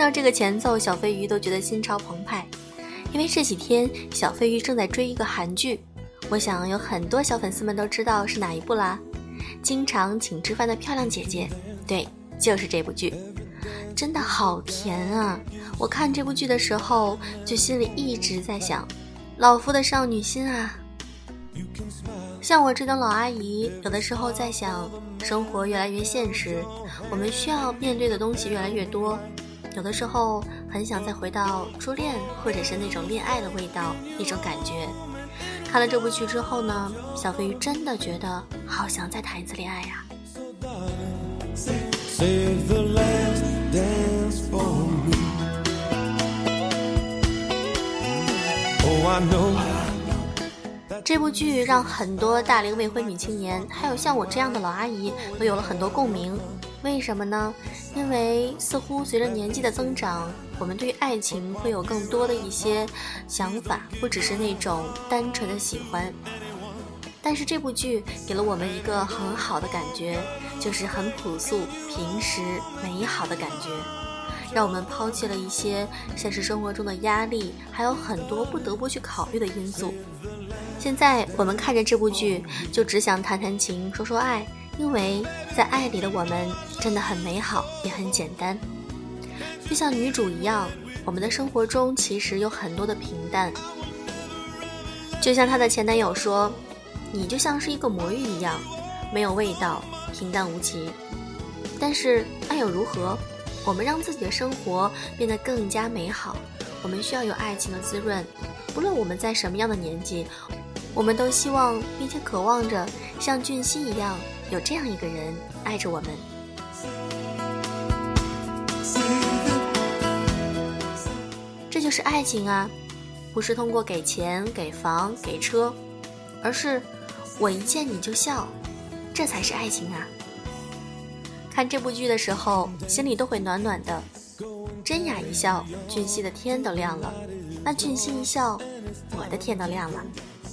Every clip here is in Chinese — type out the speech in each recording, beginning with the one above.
到这个前奏，小飞鱼都觉得心潮澎湃，因为这几天小飞鱼正在追一个韩剧，我想有很多小粉丝们都知道是哪一部啦。经常请吃饭的漂亮姐姐，对，就是这部剧，真的好甜啊！我看这部剧的时候，就心里一直在想，老夫的少女心啊。像我这等老阿姨，有的时候在想，生活越来越现实，我们需要面对的东西越来越多，有的时候很想再回到初恋，或者是那种恋爱的味道，一种感觉。看了这部剧之后呢，小飞鱼真的觉得好想再谈一次恋爱呀。这部剧让很多大龄未婚女青年，还有像我这样的老阿姨都有了很多共鸣。为什么呢？因为似乎随着年纪的增长，我们对于爱情会有更多的一些想法，不只是那种单纯的喜欢。但是这部剧给了我们一个很好的感觉，就是很朴素、平实、美好的感觉，让我们抛弃了一些现实生活中的压力，还有很多不得不去考虑的因素。现在我们看着这部剧，就只想谈谈情，说说爱，因为在爱里的我们真的很美好，也很简单。就像女主一样，我们的生活中其实有很多的平淡。就像她的前男友说，你就像是一个魔芋一样，没有味道，平淡无奇。但是爱又如何？我们让自己的生活变得更加美好，我们需要有爱情的滋润。不论我们在什么样的年纪，我们都希望并且渴望着像俊熙一样，有这样一个人爱着我们。这就是爱情啊，不是通过给钱、给房、给车，而是我一见你就笑，这才是爱情啊。看这部剧的时候，心里都会暖暖的。真雅一笑，俊熙的天都亮了；那俊熙一笑，我的天都亮了。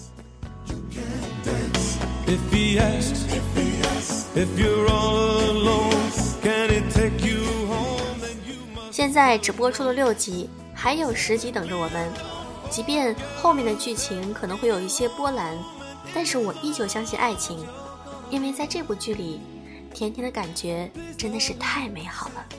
现在只播出了6集，还有10集等着我们。即便后面的剧情可能会有一些波澜，但是我依旧相信爱情，因为在这部剧里，甜甜的感觉真的是太美好了。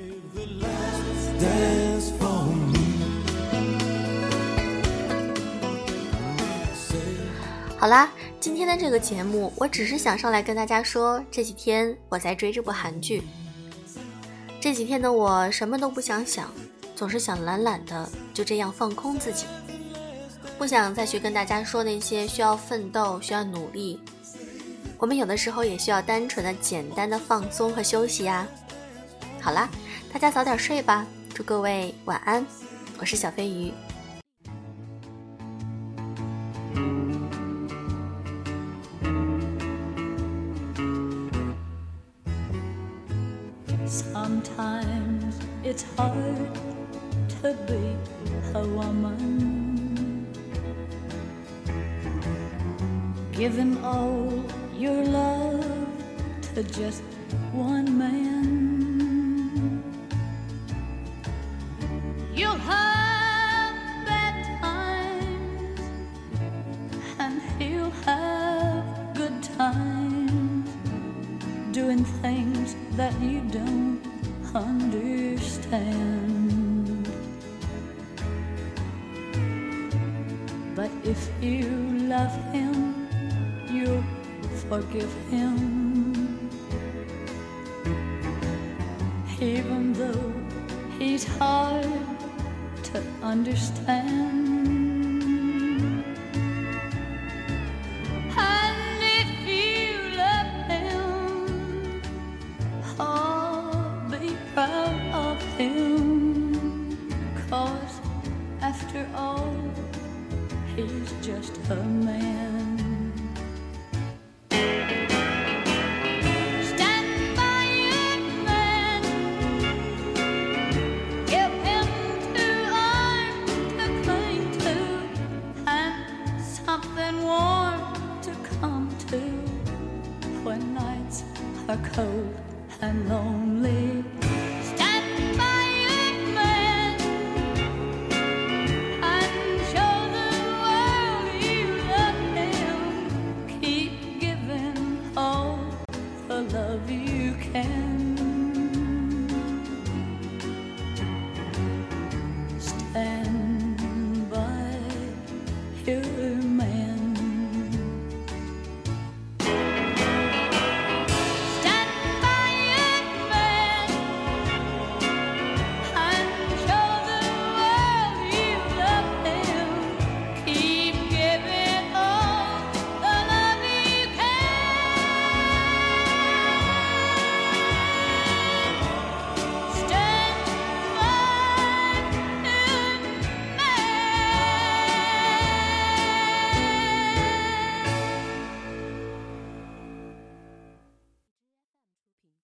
好啦，今天的这个节目我只是想上来跟大家说，这几天我在追这部韩剧。这几天的我什么都不想想，总是想懒懒的就这样放空自己，不想再去跟大家说那些需要奋斗、需要努力。我们有的时候也需要单纯的、简单的放松和休息呀。好啦，大家早点睡吧，祝各位晚安，我是小飞鱼。 Sometimes it's hard to be a woman, giving all your love to just one man. You'll have bad times and he'll have good times, doing things that you don't understand. But if you love him, you'll forgive him, even though he's hard to understand. After all, he's just a man.